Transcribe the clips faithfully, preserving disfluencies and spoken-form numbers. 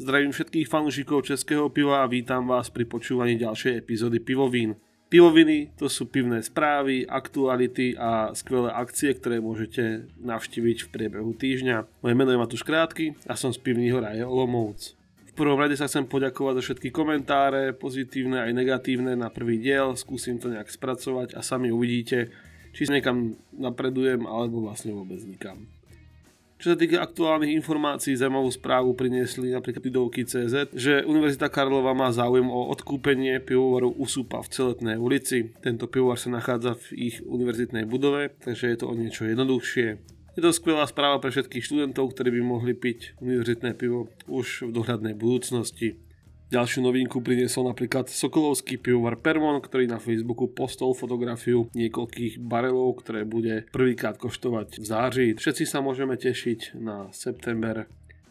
Zdravím všetkých fanúšikov českého piva a vítam vás pri počúvaní ďalšej epizódy Pivovín. Pivoviny to sú pivné správy, aktuality a skvelé akcie, ktoré môžete navštíviť v priebehu týždňa. Moje meno je Matúš Krátky a som z pivního ráje Olomouc. V prvom rade sa chcem poďakovať za všetky komentáre, pozitívne aj negatívne na prvý diel, skúsim to nejak spracovať a sami uvidíte, či sa niekam napredujem alebo vlastne vôbec nikam. Čo sa týka aktuálnych informácií, zaujímavú správu priniesli napríklad Pidovky bodka cé zet, že Univerzita Karlova má záujem o odkúpenie pivovaru Usupa v Celetnej ulici. Tento pivovar sa nachádza v ich univerzitnej budove, takže je to o niečo jednoduchšie. Je to skvelá správa pre všetkých študentov, ktorí by mohli piť univerzitné pivo už v dohľadnej budúcnosti. Ďalšiu novinku priniesol napríklad sokolovský pivovar Permon, ktorý na Facebooku postol fotografiu niekoľkých barelov, ktoré bude prvýkrát koštovať v září. Všetci sa môžeme tešiť na september.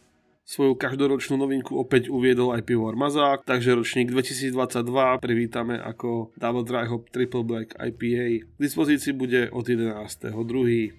Svoju každoročnú novinku opäť uviedol aj pivovar Mazák, takže ročník dvetisícdvadsaťdva privítame ako Double Dry Hop Triple Black í pé á. K dispozícii bude od jedenásteho druhého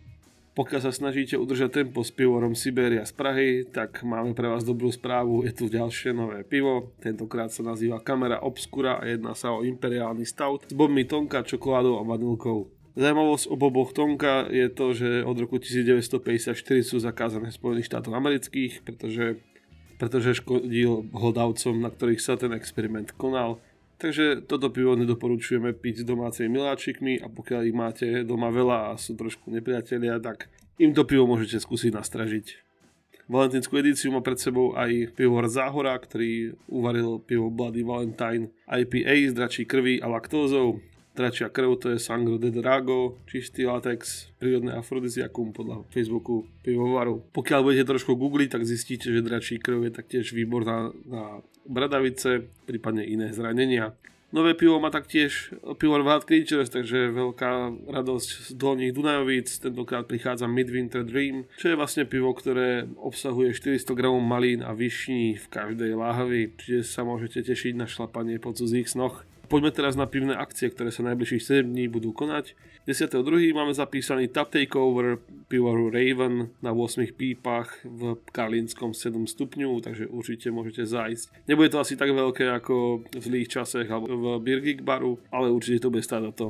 Pokiaľ sa snažíte udržať tempo s pivovarom Siberia z Prahy, tak máme pre vás dobrú správu, je tu ďalšie nové pivo. Tentokrát sa nazýva Camera Obscura a jedná sa o imperiálny stout s bobmi tonka, čokoládou a vanilkou. Zajímavosť o boboch tonka je to, že od roku devätnásťstopäťdesiatštyri sú zakázané v Spojených štátoch amerických, pretože, pretože škodil hlodavcom, na ktorých sa ten experiment konal. Takže toto pivo nedoporučujeme piť s domácimi miláčikmi a pokiaľ ich máte doma veľa a sú trošku nepriatelia, tak im to pivo môžete skúsiť nastražiť. Valentínsku edíciu má pred sebou aj pivovar Záhora, ktorý uvaril pivo Bloody Valentine í pé á s dračí krví a laktózou. Dračia krv to je Sangro de Drago, čistý latex, prírodné afrodiziakum podľa Facebooku pivovaru. Pokiaľ budete trošku googliť, tak zistíte, že dračí krv je taktiež výborná na bradavice, prípadne iné zranenia. Nové pivo má taktiež pivovar Wild Creatures, takže veľká radosť z Dolných Dunajovíc. Tentokrát prichádza Midwinter Dream, čo je vlastne pivo, ktoré obsahuje štyristo gramov malín a višní v každej láhvi, čiže sa môžete tešiť na šlapanie po cudzích snoch. Poďme teraz na pivné akcie, ktoré sa najbližších sedem dní budú konať. desiateho druhého máme zapísaný Tap Takeover pivovaru Raven na ôsmich pípach v Karlínskom sedem stupňov, takže určite môžete zájsť. Nebude to asi tak veľké ako v zlých časech alebo v Beer Geek baru, ale určite to bude stáť za to.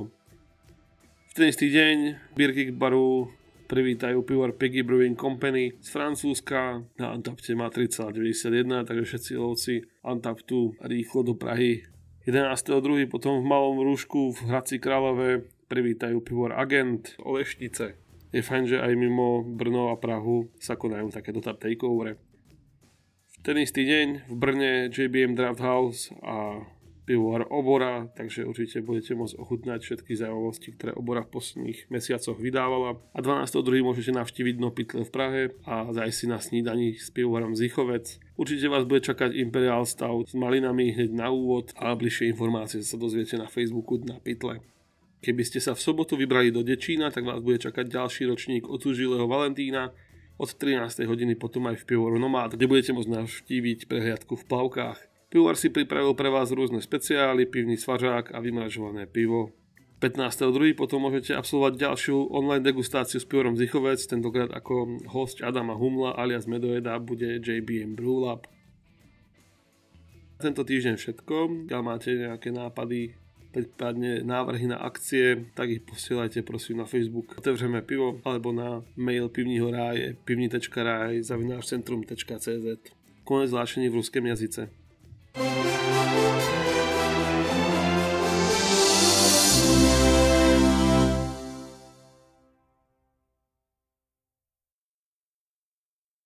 V ten istý deň Beer Geek baru privítajú pivovar Piggy Brewing Company z Francúzska. Na Antapte má tri celé deväťdesiatjeden, takže všetci lovci Antaptu rýchlo do Prahy. jedenásteho druhého potom v Malom Rúšku v Hradci Králové privítajú pivovar Agent Olešnice. Je fajn, že aj mimo Brno a Prahu sa konajú takéto tap takeovery. V ten istý deň v Brne J B M Draft House a pivovar Obora, takže určite budete môcť ochutnať všetky zaujímavosti, ktoré Obora v posledných mesiacoch vydávala. A dvanásteho druhého môžete navštíviť Dno pytle v Prahe a zájsť si na snídaní s pivovarom Zichovec. Určite vás bude čakať Imperial Stout s malinami hneď na úvod a bližšie informácie sa dozviete na Facebooku Dna pytle. Keby ste sa v sobotu vybrali do Dečína, tak vás bude čakať ďalší ročník otužilého Valentína od trinástej hodiny potom aj v pivovaru Nomád, kde budete môcť navštíviť prehliadku v plavkách. Pivovar si pripravil pre vás rôzne speciály, pivný svažák a vymražované pivo. pätnásteho druhého potom môžete absolvovať ďalšiu online degustáciu s pivorom Zichovec, tentokrát ako hosť Adama Humla alias Medojeda bude J B M Brewlab. Tento týždeň všetko, ak máte nejaké nápady, prípadne návrhy na akcie, tak ich posielajte prosím na Facebook Otevřeme pivo alebo na mail pivního ráje pivní tečka raj zavináč centrum tečka cé zet. Konec zvláštení v ruském jazyce.